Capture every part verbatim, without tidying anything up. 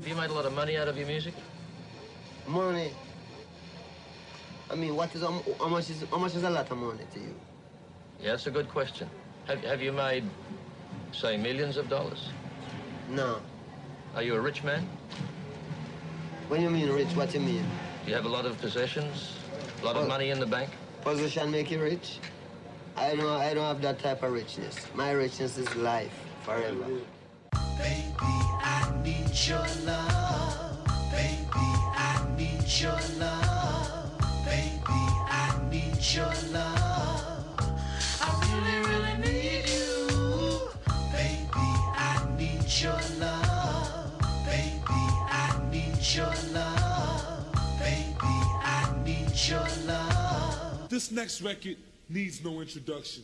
Have you made a lot of money out of your music? Money? I mean, what is, how much is, how much is a lot of money to you? Yeah, that's a good question. Have, have you made, say, millions of dollars? No. Are you a rich man? When you mean rich, what you mean? Do you have a lot of possessions? A lot Well, of money in the bank? Position make you rich? I don't, I don't have that type of richness. My richness is life, forever. Baby, I need your love. Baby, I need your love. Baby, I need your love. I really, really need you. Baby, I need your love. Baby, I need your love. Baby, I need your love. This next record needs no introduction.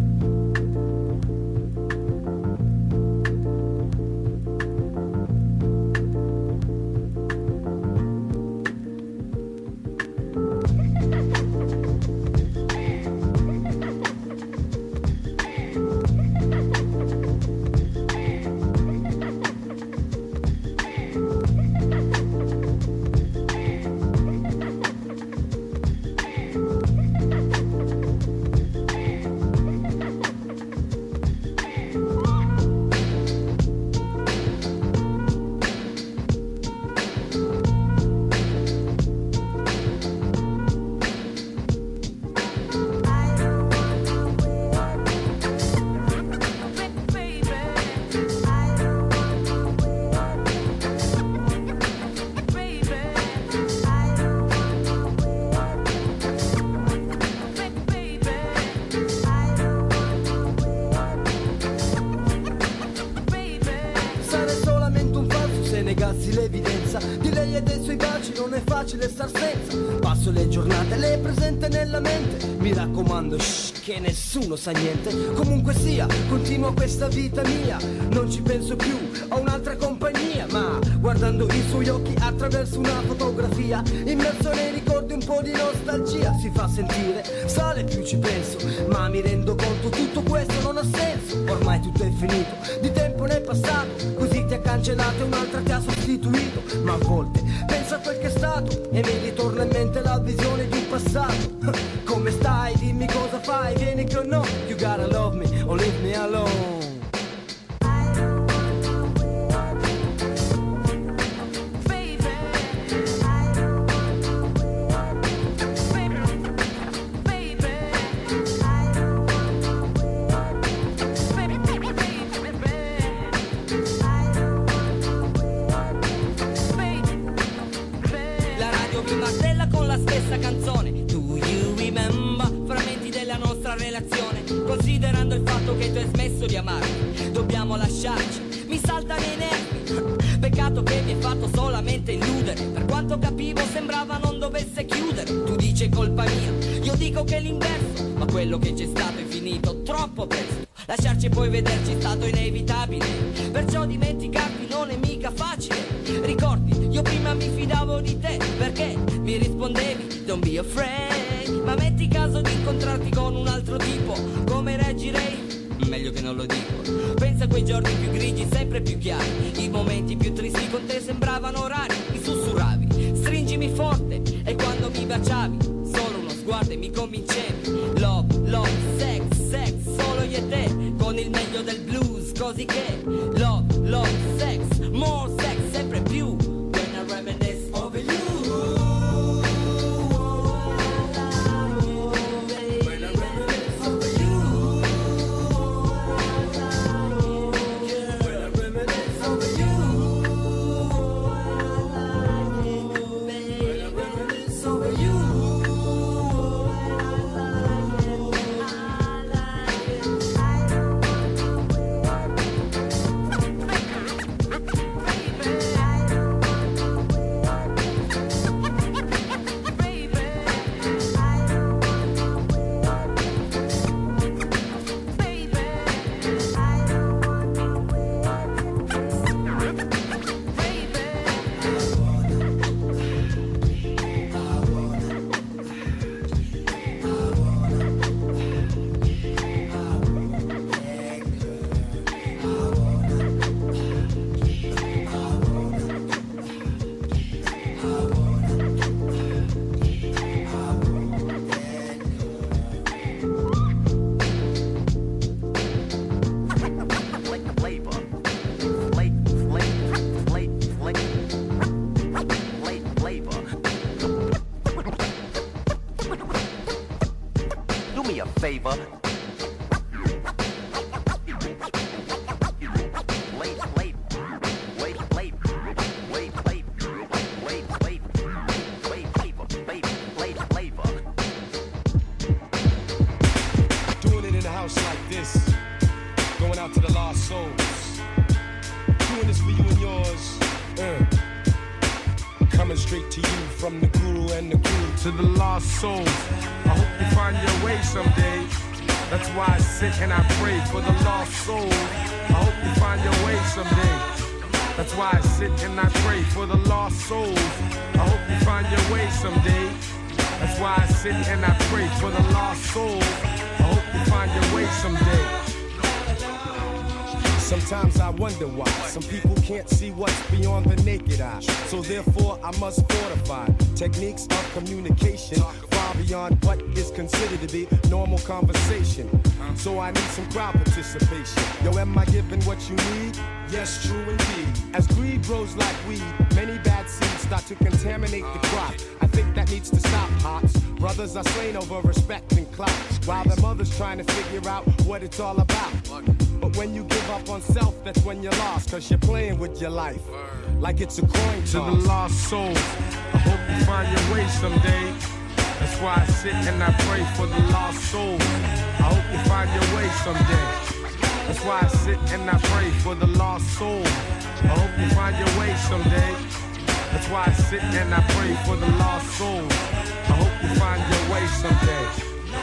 negassi l'evidenza di lei e dei suoi baci, non è facile star senza. Passo le giornate, lei è presente nella mente, mi raccomando, shh, che nessuno sa niente. Comunque sia, continuo questa vita mia, non ci penso più a un'altra compagnia, ma guardando i suoi occhi attraverso una fotografia, immerso nei ricordi un po' di nostalgia si fa sentire, sale più ci penso, ma mi rendo conto tutto questo non ha senso. Ormai tutto è finito, di tempo ne è passato, così ti ha cancellato e un'altra ti ha sostituito. Ma a volte penso a quel che è stato e mi ritorna in mente la visione di un passato. Come stai? Dimmi cosa fai, vieni con noi. You gotta love me or leave me alone. Canzone, do you remember? Frammenti della nostra relazione, considerando il fatto che tu hai smesso di amarmi, dobbiamo lasciarci, mi salta nei nervi. Peccato che mi hai fatto solamente illudere, per quanto capivo sembrava non dovesse chiudere. Tu dici è colpa mia, io dico che è l'inverso, ma quello che c'è stato è finito troppo presto. Lasciarci e poi vederci è stato inevitabile, perciò dimenticarti non è mica facile. Ricordi, io prima mi fidavo di te, perché mi rispondevi don't be afraid. Ma metti caso di incontrarti con un altro tipo, come reagirei? Meglio che non lo dico. Pensa a quei giorni più grigi, sempre più chiari, i momenti più tristi con te sembravano rari. Mi sussurravi, stringimi forte, e quando mi baciavi, solo uno sguardo e mi convincevi. Love, love, sex, sex, solo io e te, con il meglio del blues, così che love, love, sex, more sex, sempre più. When I reminisce over you. flavor. Like this, going out to the lost souls, doing this for you and yours, uh. coming straight to you from the guru and the guru to the lost souls. I hope you find your way someday. That's why I sit and I pray for the lost souls. I hope you find your way someday. That's why I sit and I pray for the lost souls. I hope you find your way someday. That's why I sit and I pray for the lost souls. I hope you find your way someday. Sometimes I wonder why some people can't see what's beyond the naked eye. So therefore I must fortify techniques of communication far beyond what is considered to be normal conversation. So I need some crowd participation. Yo, am I giving what you need? Yes, true indeed. As greed grows like weed, many bad seeds start to contaminate the crop. I think that needs to stop, Pops. Brothers are slain over respect and clout, while their mothers trying to figure out what it's all about. But when you give up on self, that's when you're lost, cause you're playing with your life like it's a coin toss. To the lost souls, I hope you find your way someday. That's why I sit and I pray for the lost souls. I hope you find your way someday. That's why I sit and I pray for the lost souls. I hope you find your way someday. That's why I sit and I pray for the lost souls. I hope you find your way someday.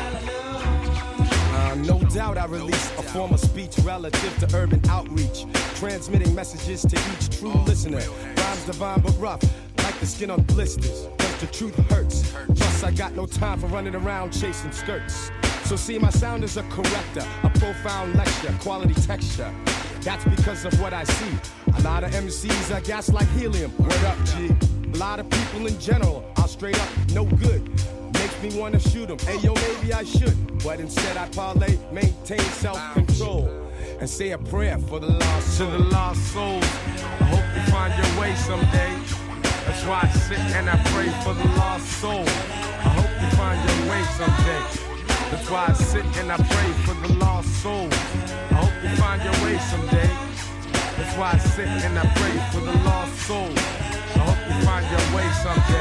Uh, no doubt I release a form of speech relative to urban outreach, transmitting messages to each true listener. Rhymes divine but rough, like the skin on blisters, cause the truth hurts. Plus I got no time for running around chasing skirts. So see, my sound is a corrector, a profound lecture, quality texture. That's because of what I see. A lot of M Cs are gas like helium. Word up, G. A lot of people in general are straight up no good. Makes me wanna shoot them. Hey, yo, maybe I should. But instead I parlay, maintain self-control, and say a prayer for the lost souls. To the lost souls, I hope you find your way someday. That's why I sit and I pray for the lost souls. I hope you find your way someday. That's why I sit and I pray for the lost souls. I hope you find your way someday. That's why I sit and I pray for the lost souls. I hope you find your way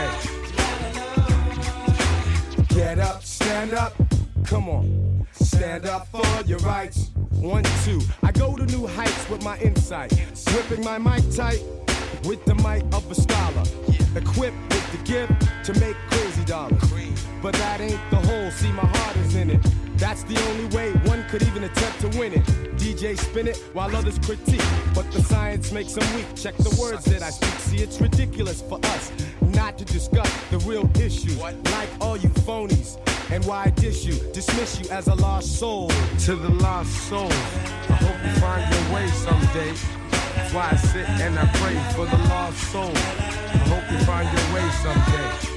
someday. Get up, stand up, come on. Stand up for your rights. One, two, I go to new heights with my insight. Gripping my mic tight with the might of a scholar. Equipped with the gift to make crazy dollars. But that ain't the whole, see my heart is in it. That's the only way one could even attempt to win it. D J spin it while others critique, but the science makes them weak. Check the words that I speak. See, it's ridiculous for us not to discuss the real issues, like all you phonies. And why I dish you, dismiss you as a lost soul. To the lost souls, I hope you find your way someday. That's why I sit and I pray for the lost souls. I hope you find your way someday.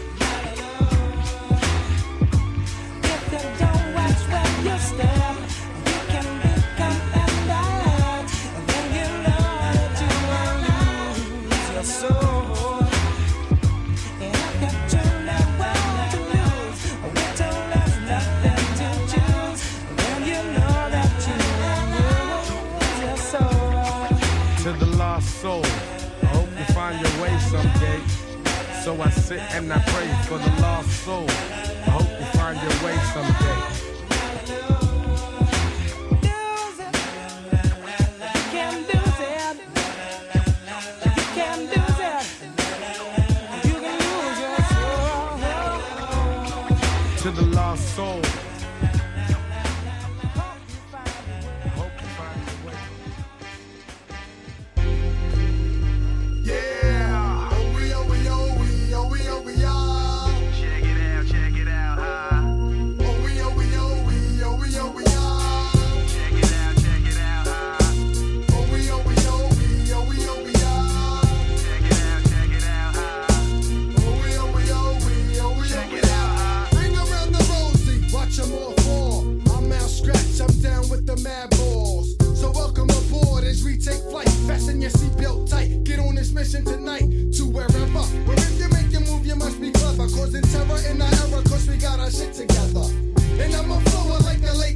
You step, you can become bad, and then you know that you will lose your soul. And if you truly want to lose, we don't have nothing to choose, then you know that you will lose your soul. To the lost soul, I hope you find your way someday. So I sit and I pray for the lost soul. I hope you find your way someday. To the lost soul. Hope you find your way. Yeah. Oh we oh we oh we oh we oh we are. Check it out, check it out, huh? Oh we oh we oh we oh we oh we are. Check it out, check it out, huh? Oh we oh we oh we oh we oh we are. Check it out, check it out, huh? Oh we oh we oh we oh we check it out, huh? Ring around the rosy, watch them all fall. I'm out scratch, I'm down with the mad balls. So welcome aboard as we take flight. Fasten your seatbelt tight. Get on this mission tonight to wherever. Where if you make your move, you must be clever. Causing terror in the era, cause we got our shit together. And I'm a flower like the late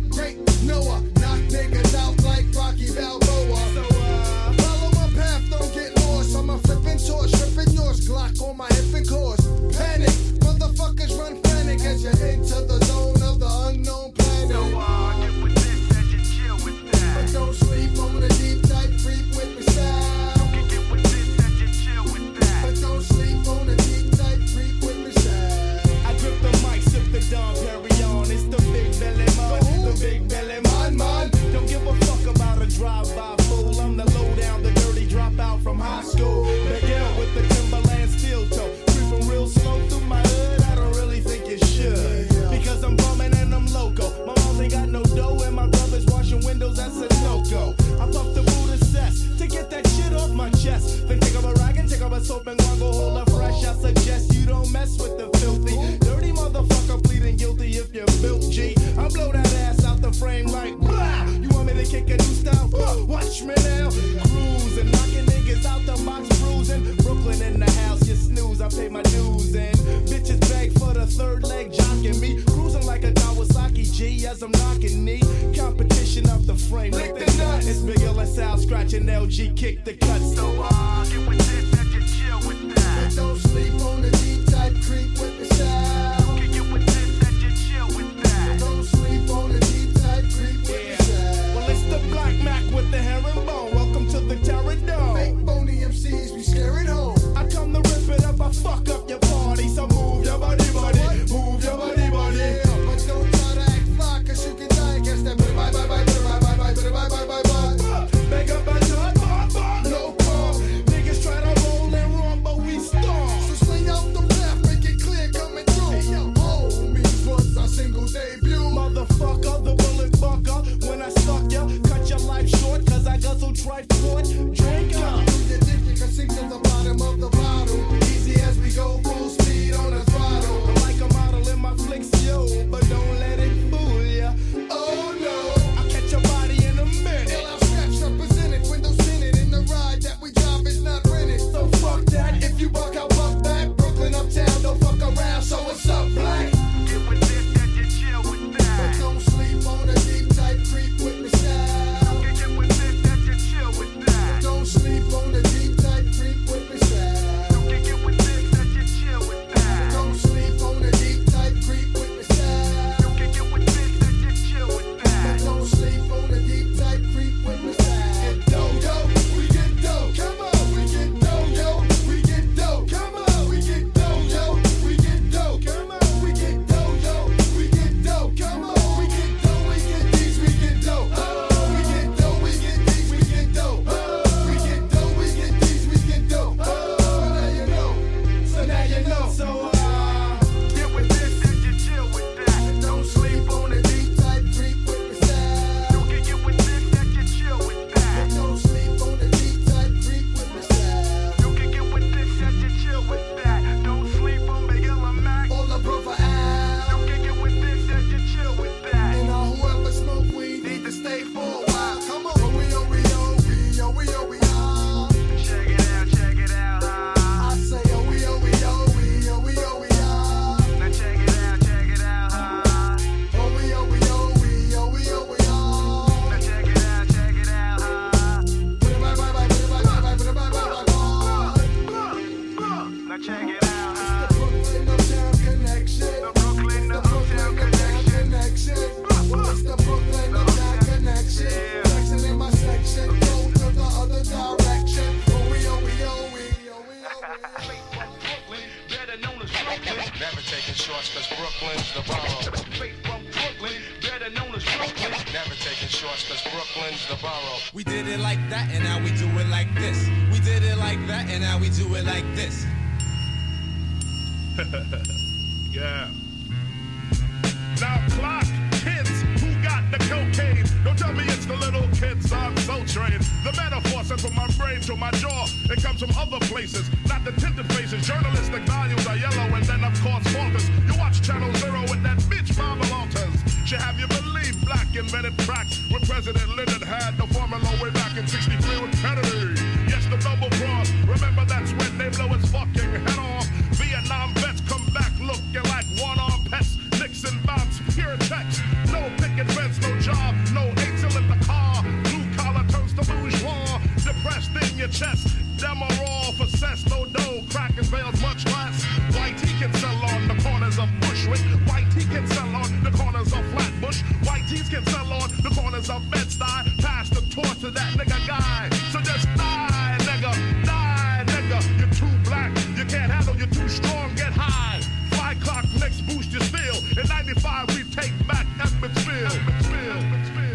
as I'm knocking knee. Competition of the frame. Lick the nuts. It's Big L S Al scratching L G, kick the cuts. So uh, get with this and just chill with that. But don't sleep on the D-type creep with the style. Can get with this and just chill with that. Don't sleep on the D-type creep with Yeah. the style. Well, it's the Black Mac with the herringbone. Welcome to the Terradome. Fake phony M Cs, we scaring home. I come to rip it up, I fuck up your party. So move your body, body. Move your body, body. Yeah, but don't try to act fly, cause you can die against that. Bye, bye, bye, bye, bye, bye, bye, bye, bye, bye, bye. Make up a ton, bar, bar, no call. Niggas try to roll and run, but we storm. So swing out the left, make it clear coming through. Hey, yo, homies, was our single debut. Motherfucker, the bullet bucker. When I suck ya, cut your life short, cause I guzzle tripod. Drink up. You think you can sink to the bottom of the bottle. Easy as we go, full speed on the throttle. I'm like a model in my flicks, yo, but don't let it fool ya. Oh no, I'll catch your body in a minute. L L Scratch represented, windows tinted, in the ride that we drive is not rented. So fuck that. If you buck out, buck back, Brooklyn uptown, don't fuck around. So what's up, black? Get with this and just chill with But that. don't sleep on the deep type creep with me style. Can get with this and just chill with that. Don't sleep on the deep type creep with me style. Can get with this and just chill with that. Don't sleep on the deep type creep with me style. Can get with this and just chill with that. Don't sleep on the deep type creep with me style. Get dough, yo, we get dough. Come on, we get dough, yo, we get dough. Come on, we get dough, yo, we get dough. Come on, we get dough, yo, we get dough. Come on, we get dough, we get these, we get dough. Oh, we get dough, we get these, we get dough. Oh, we get dough, we get these, we get dough. Oh, now you know. So now you know. So, uh, Get with this and just chill with that. Don't sleep on the deep type creep with me style. Can get with this and just chill with that. Don't sleep on the deep type creep with me style. You can get with this and just chill with that. Don't sleep on Big L and Mac. All the brother Al. You can get with this and just chill with that. And all whoever smoke weed need to stay for a while. Come on. Oh, we, oh, we, oh, we, oh, we, oh, we, oh. Check it out, check it out, huh? I say, oh, we, oh, we, oh, we, oh, we, oh, we, oh. Now check it out, check it out, huh? Oh, we, oh, we, oh, we, oh, we, oh, we, oh. Now check it out, check it out, huh? Bye, bye, bye, bye, bye, bye, bye, bye, bye, bye. Now check it out, huh? The Brooklyn Uptown Connection. The Brooklyn The to Brooklyn Uptown Uptown connection. Connection. It's the Brooklyn Uptown Connection. Yeah. Flexing in my section, go to the other direction. Oh, we, oh, we, oh, we, oh, we, oh, we, oh. Brooklyn, better known as Brooklyn. Never taking shorts, cause Brooklyn's the borough. Straight from Brooklyn, better known as Brooklyn. Never taking shorts, cause Brooklyn's the borough. We did it like that, and now we do it like this. We did it like that, and now we do it like this. Yeah. Now clock, kids, who got the cocaine? Don't tell me it's the little kids on Soul Train. The metaphor sent from my brain to my jaw. It comes from other places, not the tinted faces. Journalistic values are yellow, and then of course falters. You watch Channel Zero with that bitch Mama Walters. She have you believe black invented crack when President Lyndon had the formula way back in sixty-three with Kennedy. Yes, the double cross. Remember that's when they blow his fucking head off. Vietnam vets come back looking like one-armed pets. Nixon bounce, pure text. No picket fence, no job, no eight-till in the car. Blue collar turns to bourgeois. Depressed in your chest. Them are all for cess, no dough. Crack and bales much less. White he can sell on the corners of Bushwick. White he can sell on the corners of Flatbush. White tees can sell on the corners of Bed-Stuy. Pass the torch to that nigga guy. So just die, nigga, die, nigga. You're too black, you can't handle, you're too strong, get high. Fly clock, next boost your steel. In ninety-five, we take back Edmondsville. Edmondsville, Edmondsville,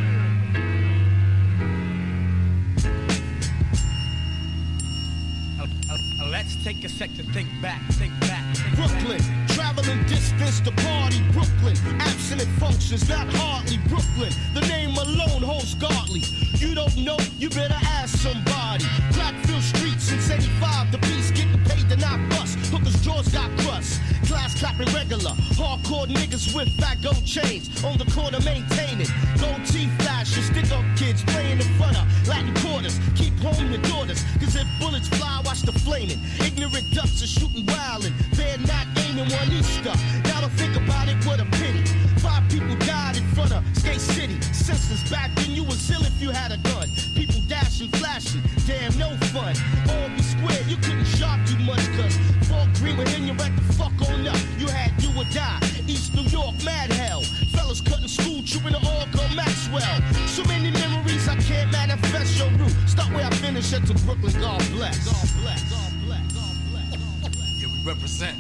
Uh, uh, let's take a sec to think back, think back. Think Brooklyn, back. traveling distance to party. Brooklyn, abstinent functions, not hardly. Brooklyn, the name alone holds godly. You don't know, you better ask somebody. Blackfield Street since eighty-five, the beast getting paid to not bust. Hookers' jaws got crust. Class clapping irregular. Hardcore niggas with fat gold chains on the corner maintaining. Gold teeth flashing, stick up kids playing in front of Latin quarters. Keep home your daughters, cause if bullets fly, watch the flaming. Ignorant ducks are shooting wildin', they're not aiming one Easter. Now to think about it, what a pity. Five people died in front of Skate City. Senseless back then, you was ill if you had a gun. People dashing, flashing, damn no fun. All be square, you couldn't shock you much, cause Fort Green would hit you right the fuck on up. You had do or die, East New York, mad hell. Fellas cutting school, trooping to all go Maxwell. So many memories I can't manifest your route. Start where I finish, at to Brooklyn, God bless. God bless, God bless, God bless. Yeah, we represent.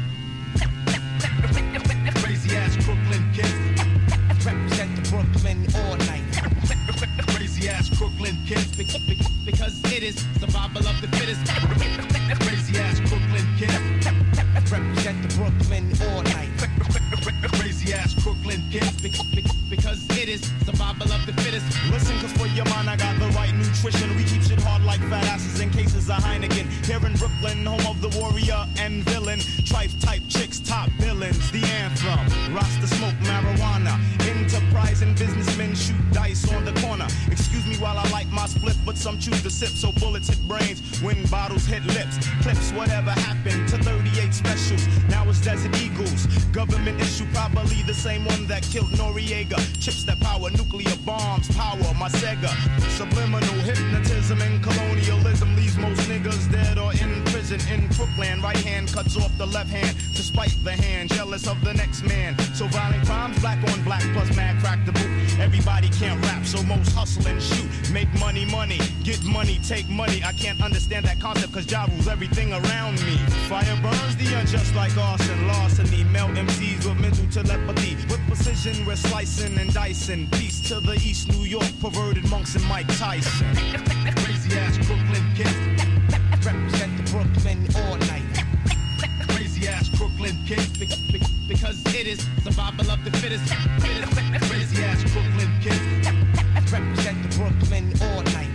Crazy ass Brooklyn kids. Represent the Brooklyn all night. Crazy ass Brooklyn kids. Because it is survival of the fittest. Crazy ass Brooklyn kids. Represent the Brooklyn all night. Crazy ass Brooklyn kids. Because it is survival of the fittest. Listen, cause for your mind I got the right nutrition. We keep shit hard like fat asses in cases of Heineken. Here in Brooklyn, home of the warrior and villain. Trife type chicks, top villains, the anthem. Rasta smoke marijuana. Enterprising businessmen shoot dice on the corner. Excuse me while I light my split, but some choose to sip. So bullets hit brains when bottles hit lips. Clips, whatever happened to thirty-eight specials. Now it's Desert Eagles. Government issue, probably the same one that killed Noriega. Chips that power nuclear bombs, power my Sega. Subliminal hypnotism and colonialism leaves most niggas dead or in prison in Brooklyn. Right hand cuts off the left hand to spite the hand, jealous of the next man. So violent crimes, black on black plus mad crack the boot. Everybody can't rap, so most hustle and shoot. Make money, money, get money, take money. I can't understand that concept cause Ja rules everything around me. Fire burns the unjust like arson, larceny. Melt M Cs with mental telepathy. With precision we're slicing and dicing. Peace to the East New York perverted monks and Mike Tyson. Crazy ass Brooklyn kids. Represent the Brooklyn all night. Crazy ass Brooklyn kids. Because it is survival of the fittest. Crazy ass Brooklyn kids. Represent the Brooklyn all night.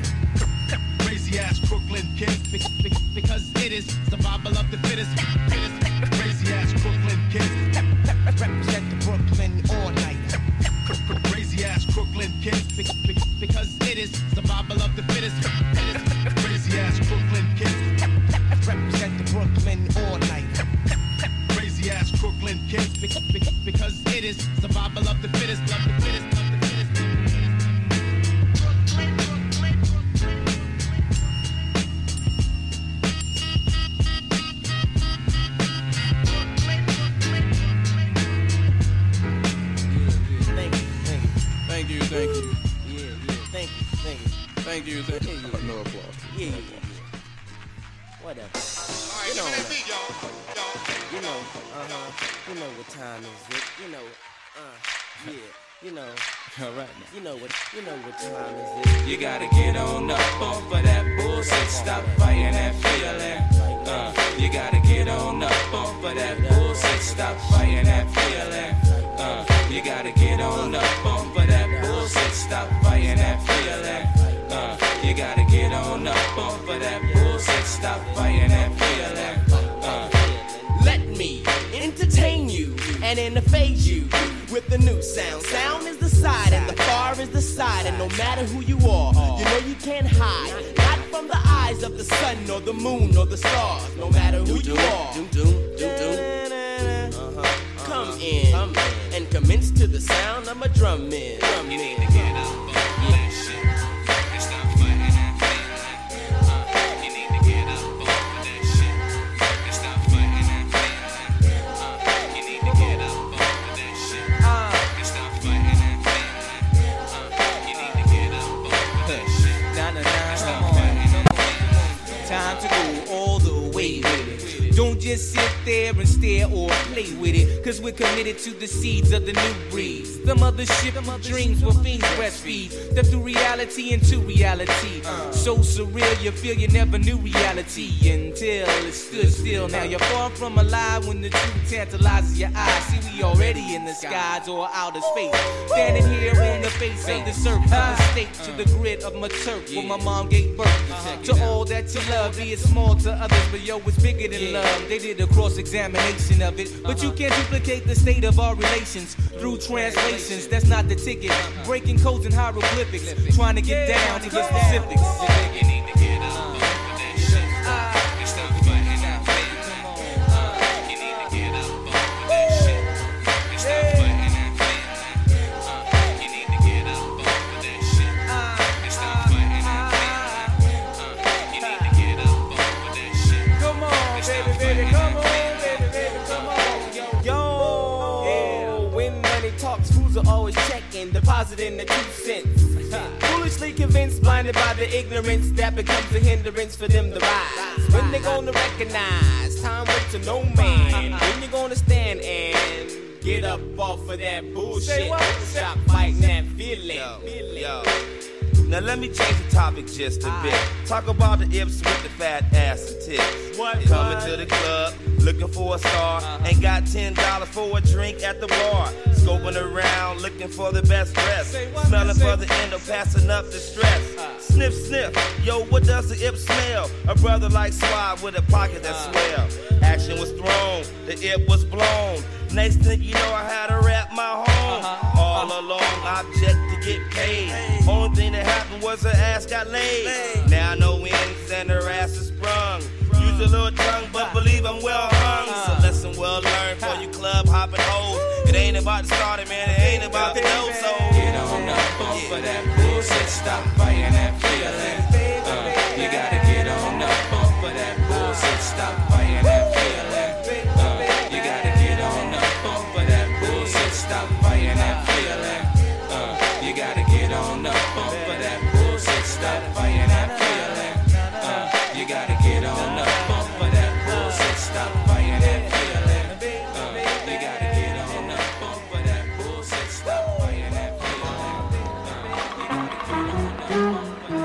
Crazy ass Brooklyn kids. Because it is survival of the fittest. Crazy ass Brooklyn kids. Represent the Brooklyn all night. Crazy ass Brooklyn kids. Because it is survival of the fittest. Crazy ass Brooklyn kids. Represent the Brooklyn all night. Crazy ass Brooklyn kids. Because it is survival of the fittest. Of the fittest. Of the fittest. Thank you, thank you. Yeah, yeah, thank you, thank you. Thank you, thank you. Yeah, yeah. No applause. Yeah, yeah, yeah. Whatever. All right, You give me know, that beat, y'all. Y'all. you know, uh-huh. You know what time is it? You know, uh, yeah, you know. All right now. You know what, you know what time is it? You gotta get on up off of that bullshit. Stop fighting that feeling. Uh, you gotta get on up off of that bullshit. Stop fighting that feeling. Uh, you gotta get on up off of that bullshit. Stop fighting that feeling. Uh, you gotta get on up off of that bullshit. Stop fighting that feeling. Uh, Let me entertain you and interface you with the new sound. Sound is the side and the far is the side. And no matter who you are, you know you can't hide. Not from the eyes of the sun or the moon or the stars. No matter who you are. Come in and commence to the sound of a drum in. Drum you in. need to get up off of that shit and stop fighting that feeling. Uh, you need to get up off of that shit and stop fighting that feeling. Uh, you need to get up off of that shit and stop fighting that feeling. Uh, you need to get up off of that shit and stop fighting that feeling. Time to go all the way with it. Don't just sit there and stare or play with it, cause we're committed to the seeds of the new breed. Some other shit, them other dreams will fiends breastfeed. Step through reality into reality. So surreal, you feel you never knew reality until it stood still. Now you're far from alive when the truth tantalizes your eyes. See, we already in the skies or outer space. Standing here on the face of the surface of the state to the grid of my turf where my mom gave birth. To all that you love, be it small to others, but yo, it's bigger than love. Um, they did a cross-examination of it, but you can't duplicate the state of our relations through translations. That's not the ticket. Breaking codes and hieroglyphics, trying to get down to get specifics. You need to get up off of that shit. And stop fighting that feeling. You need to get up off of that shit. And stop fighting that feeling. You need to get up off of that shit. And stop fighting that feeling. You need to get up off of that shit. Come on, baby, baby, come on, baby, baby, come on. Yo, yeah. When money talks, fools are always checking, depositing the two cents. Foolishly convinced, blinded by the ignorance that becomes a hindrance for them to rise. When they gonna recognize, time waits to no man. When you gonna stand and get up off of that bullshit? Stop fighting that feeling. Yo, yo. Now let me change the topic just a bit. Talk about the Ips with the fat ass and tits. What? Coming to the club, looking for a star. Ain't got ten dollars for a drink at the bar. Scoping around, looking for the best dress. Smelling for the endo, passing up the stress. Sniff, sniff, yo, what does the Ip smell? A brother like Swab with a pocket that swell. Action was thrown, the Ip was blown. Next thing you know, I had to rap my home. All along, object to get paid. Only thing that happened was her ass got laid. Now no ends and her ass is sprung. Use a little tongue, but believe I'm well hung. So lesson well learned for you club hopping hoes. It ain't about the starter, man, it ain't about the dough, so get on up off yeah. of that bullshit, stop fighting that feeling. Uh, you gotta get on up off of that bullshit, stop fighting that feeling. Uh, you gotta get on up off of that bullshit, stop fighting that feeling. Uh, you gotta get on up off of that bullshit, stop fighting that feeling. Uh, you gotta get on up off of that bullshit, stop fighting that feeling. Uh, you gotta get on up off of that bullshit, stop fighting that feeling. Uh, you gotta get on up off of that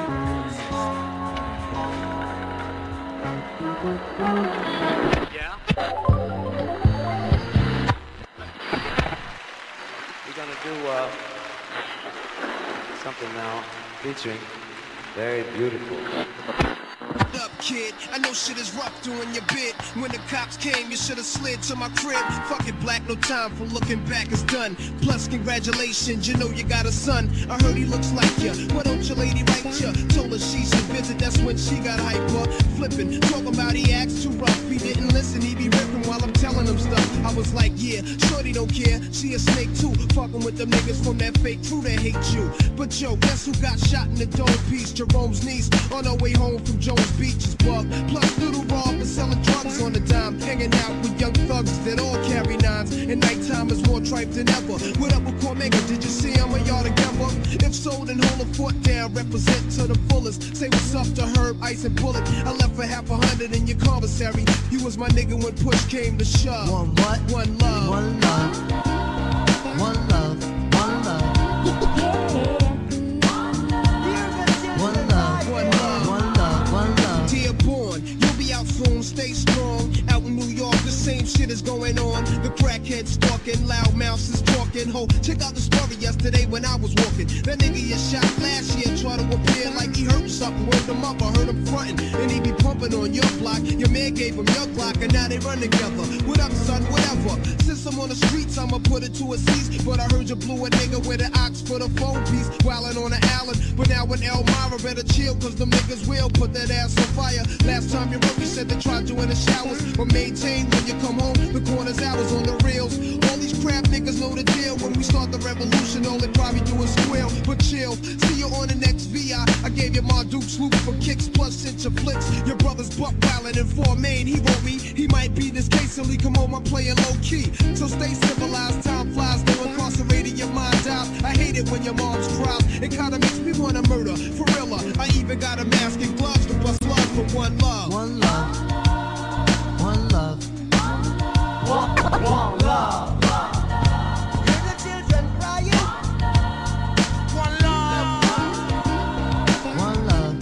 bullshit. Yeah? We're gonna do uh, something now featuring Very Beautiful. Up, kid. I know shit is rough doing your bit. When the cops came, you should have slid to my crib. Fuck it, black, no time for looking back, it's done. Plus, congratulations, you know you got a son. I heard he looks like ya. Why don't your lady write ya? Told her she should visit, that's when she got hyper. Flipping, talking about he acts too rough. He didn't listen, he be ripping while I'm telling him stuff. I was like, yeah, shorty don't care. She a snake too. Fucking with them niggas from that fake crew that hate you. But yo, guess who got shot in the dome piece? Jerome's niece on her way home from Jones Beach is bugged. Plus little Rob is selling drugs on the dime. Hanging out with young thugs that all carry nines. And nighttime is more tripe than ever. What up with Cormega? Did you see him? Are y'all together? If so, then hold a foot down. Represent to the fullest. Say what's up to Herb, Ice, and Bullet. I left for half a hundred in your commissary. You was my nigga when push came to shove. One what? One love. One love. One love. One love. One love. One love. One love. One love. Dearborn, you'll be out soon. Stay strong. Out in New York, the same shit is going on. The crackheads stalking, loud mouths is talking. Ho, check out the story yesterday when I was walking. That nigga you shot last year tried to appear like he hurt something. Word him up, I heard him frontin', and he be pumping on your block. Your man gave him your Glock, and now they run together. What up, son? Whatever. Since I'm on the streets, I'ma put it to a cease. But I heard you blew a nigga with an ox for the phone piece, wildin' on the island. But now in Elmira, better chill, cause them niggas will put that ass on fire. Last time you wrote, you said they tried you in the showers. But maintain when you come home, the corner's hours on the reels. All these crap niggas know the deal. When we start the revolution, all they probably do is squeal. But chill, see you on the next V I. I gave you my Duke swoop for kicks plus sent your flicks. Your brother's buck wildin' in four main. He wrote me, he might be this case, so he come home, I'm playing low key. So stay civilized, time flies, no incarcerated, your mind out. I hate it when your mom's cries. It kinda makes me wanna murder, for real. I even got a mask and gloves to bust love for one love. One love. One love. One, one love. Hear the children crying. One love. One love.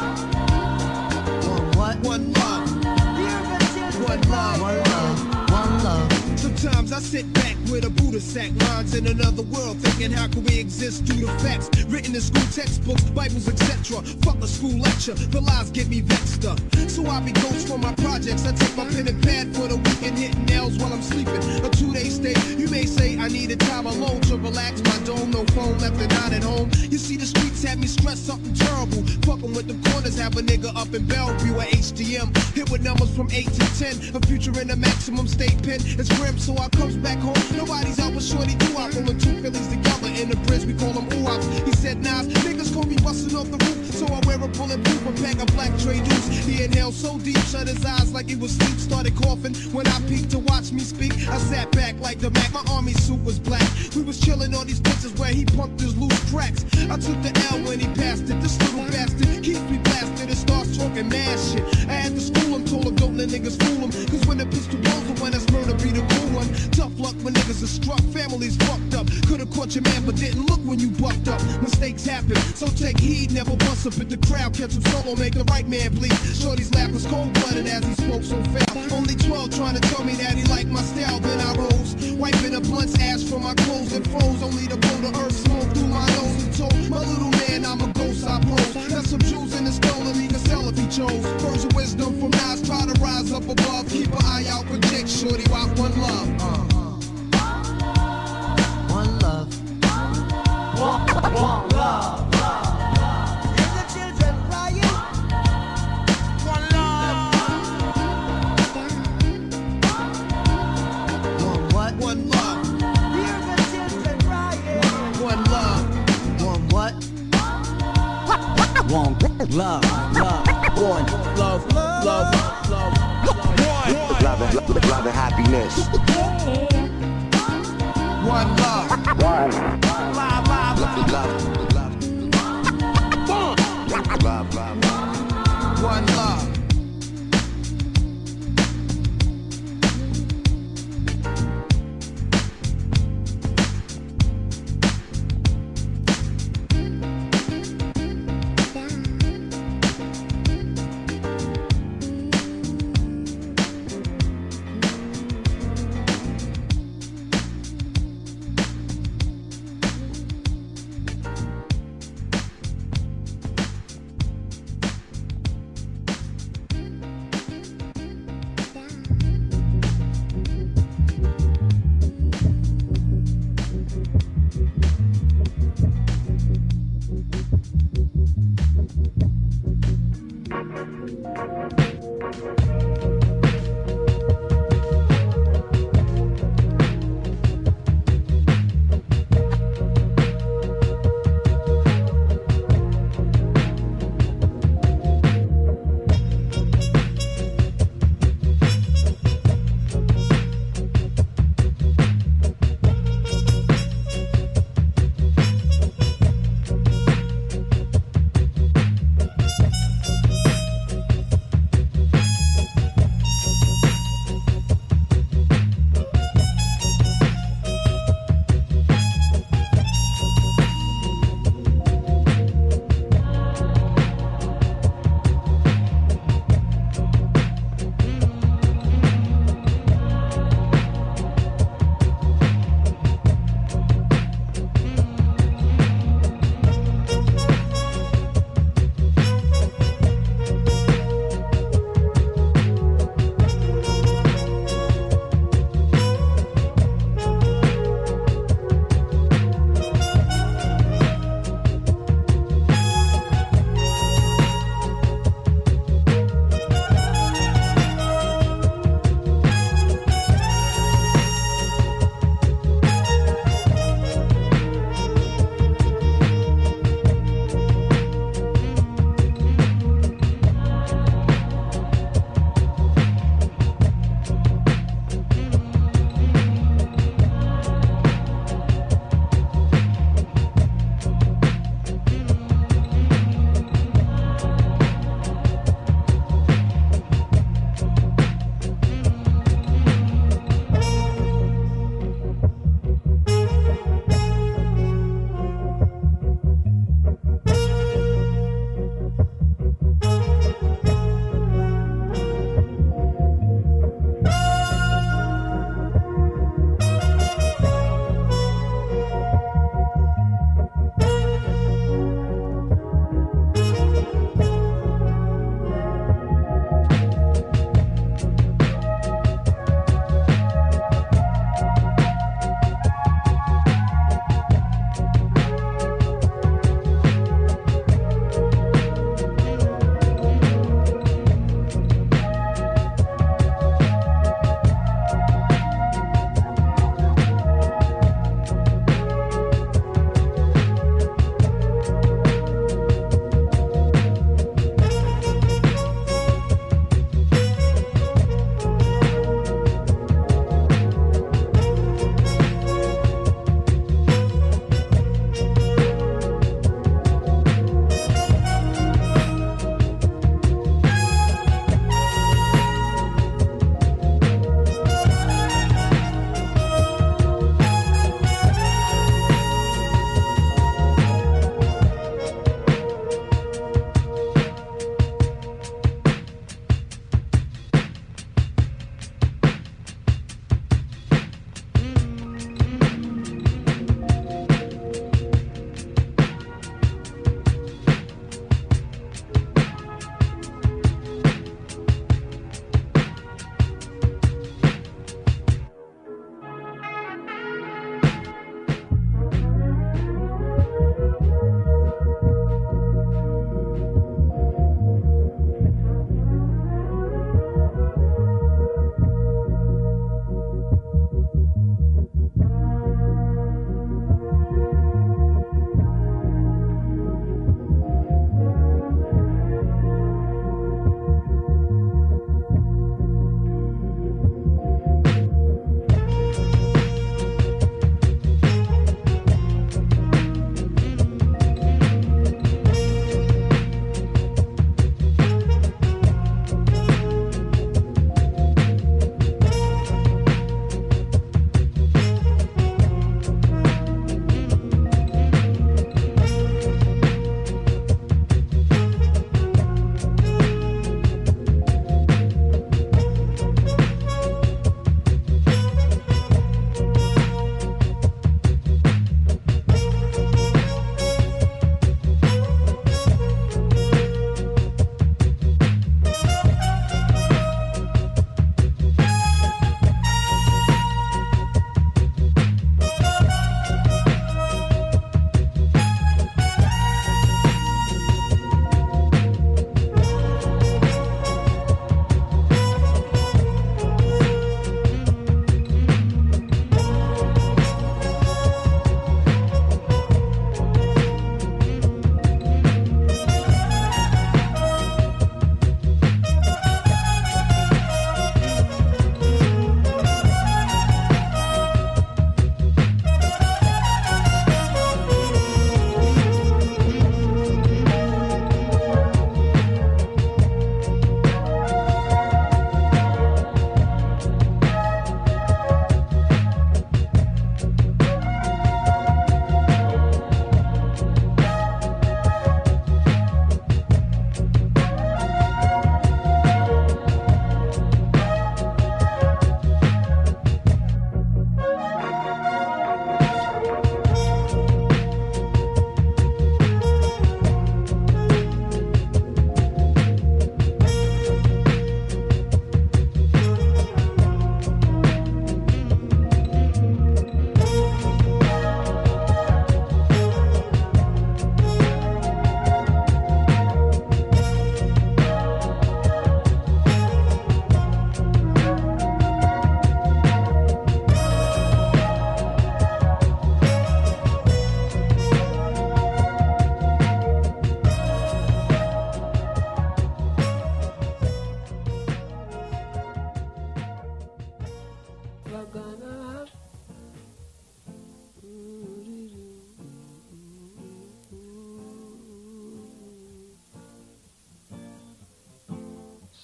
One what? One love. One love. One love. One love. Sometimes I I sit back with a Buddha sack, lines in another world, thinking how can we exist due to facts written in school textbooks, Bibles, et cetera. Fuck a school lecture, the lies get me vexed up. So I be ghost for my projects. I take my pen and pad for the weekend, hitting nails while I'm sleeping. A two-day stay. You may say I needed time alone to relax my dome. No phone left and not at home. You see the streets have me stressed something terrible. Fucking with the corners, have a nigga up in Bellevue at H D M. Hit with numbers from eight to ten. A future in a maximum state pen. It's grim, so I comes back home. Nobody's out with shorty do I pulling two Phillies together in the bridge. We call them ooh-ops. He said, Nas, niggas gon' be busting off the roof. So I wear a bulletproof and pack a black tray deuce. He inhaled so deep, shut his eyes like he was asleep. Started coughing when I peeked to watch me speak. I sat back like the Mac. My army suit was black. We was chilling on these bitches where he pumped his loose cracks. I took the L when he passed it. This little bastard keeps me blasted and starts talking mad shit. I had to school him, told him don't let niggas fool him. Cause when the pistol blows the one that's murder be the cool one. Tough luck when niggas are struck, families fucked up. Could've caught your man but didn't look when you bucked up. Mistakes happen, so take heed, never bust up at the crowd. Catch him solo, make the right man bleed. Shorty's laugh was cold-blooded as he spoke so foul. Only twelve trying to tell me that he liked my style. Then I rose, wiping a blunt's ash from my clothes and froze. Only to blow the earth smoke through my nose and told my little man I'm a ghost I pose. Got some jewels in his skull and he can sell if he chose. Words of wisdom from Nas, try to rise up above. Keep an eye out for Dick, shorty, rock one love. Uh. One love. One, one love. Hear the children crying. One love. One what? One love. Hear the children crying. One love. One what? One love. Love. One love. Love. Love. Love. One. Love and, love, love and happiness. One love. One. Love, love, Love, love, love. Love, love, love. One love.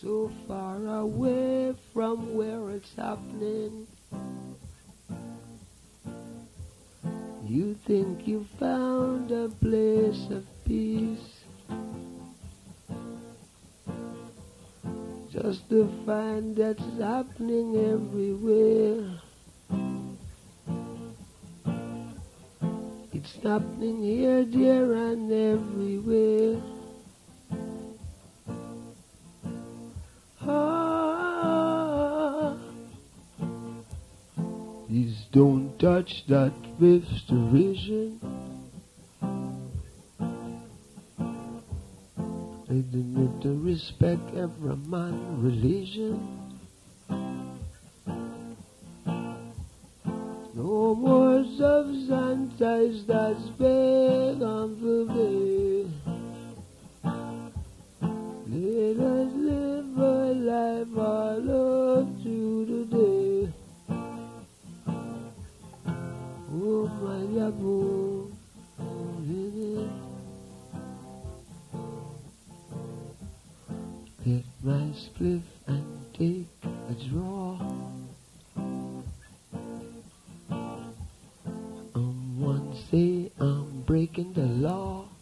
so far away from where it's happening. You think you found a place of peace, just to find that's happening everywhere. It's happening here, there, and everywhere. Ah, please don't touch that with derision. I need to respect every man religion. No more substance that's big on the day. Let us live a life all up to the day. Oh my yabo, get my spliff and take a draw. Um, one say I'm breaking the law.